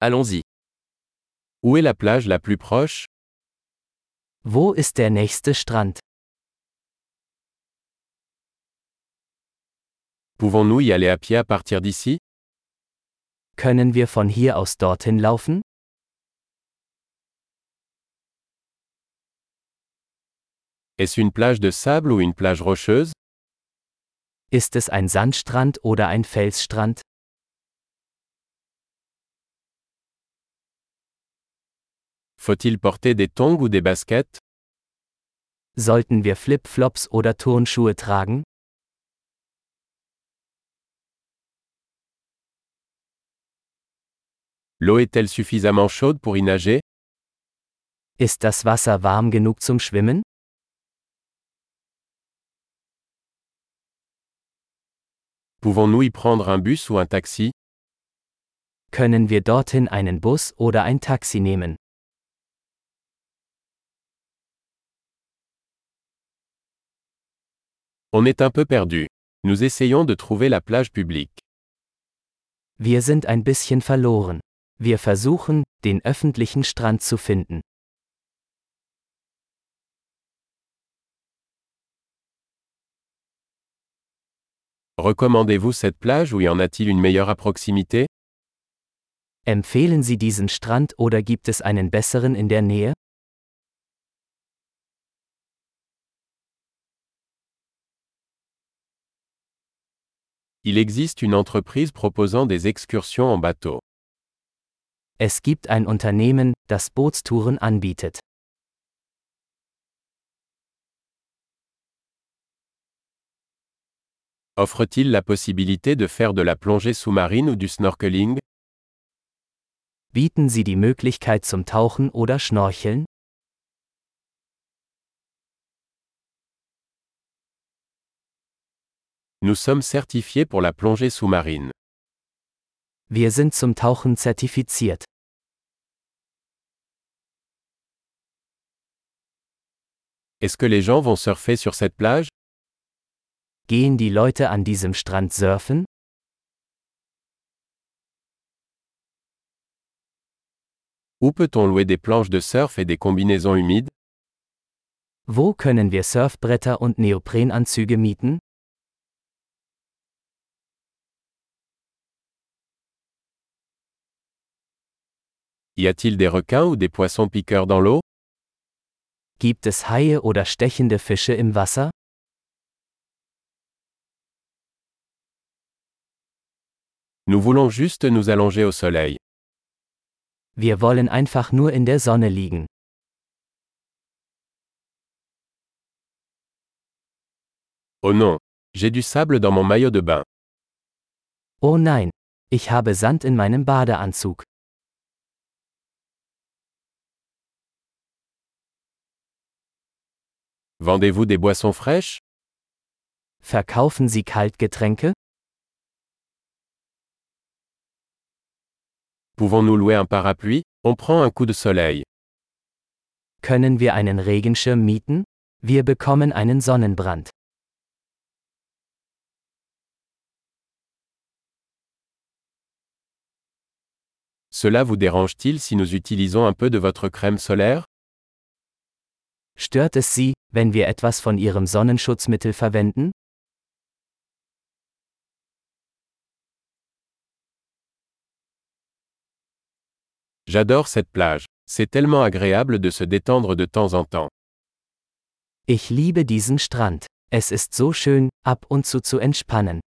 Allons-y. Où est la plage la plus proche? Wo ist der nächste Strand? Pouvons-nous y aller à pied à partir d'ici? Können wir von hier aus dorthin laufen? Est-ce une plage de sable ou une plage rocheuse? Ist es ein Sandstrand oder ein Felsstrand? Faut-il porter des tongs ou des baskets? Sollten wir Flip-Flops oder Turnschuhe tragen? L'eau est-elle suffisamment chaude pour y nager? Ist das Wasser warm genug zum Schwimmen? Pouvons-nous y prendre un bus ou un taxi? Können wir dorthin einen Bus oder ein Taxi nehmen? On est un peu perdu. Nous essayons de trouver la plage publique. Wir sind ein bisschen verloren. Wir versuchen, den öffentlichen Strand zu finden. Recommandez-vous cette plage ou y en a-t-il une meilleure à proximité? Empfehlen Sie diesen Strand oder gibt es einen besseren in der Nähe? Il existe une entreprise proposant des excursions en bateau. Es gibt ein Unternehmen, das Bootstouren anbietet. Offre-t-il la possibilité de faire de la plongée sous-marine ou du snorkeling? Bieten Sie die Möglichkeit zum Tauchen oder Schnorcheln? Nous sommes certifiés pour la plongée sous-marine. Wir sind zum Tauchen zertifiziert. Est-ce que les gens vont surfer sur cette plage? Gehen die Leute an diesem Strand surfen? Où peut-on louer des planches de surf et des combinaisons humides? Wo können wir Surfbretter und Neoprenanzüge mieten? Y a-t-il des requins ou des poissons piqueurs dans l'eau? Gibt es Haie oder stechende Fische im Wasser? Nous voulons juste nous allonger au soleil. Wir wollen einfach nur in der Sonne liegen. Oh non, j'ai du sable dans mon maillot de bain. Oh nein, ich habe Sand in meinem Badeanzug. Vendez-vous des boissons fraîches? Verkaufen Sie Kaltgetränke? Pouvons-nous louer un parapluie? On prend un coup de soleil. Können wir einen Regenschirm mieten? Wir bekommen einen Sonnenbrand. Cela vous dérange-t-il si nous utilisons un peu de votre crème solaire? Stört es Sie, wenn wir etwas von Ihrem Sonnenschutzmittel verwenden? J'adore cette plage. C'est tellement agréable de se détendre de temps en temps. Ich liebe diesen Strand. Es ist so schön, ab und zu entspannen.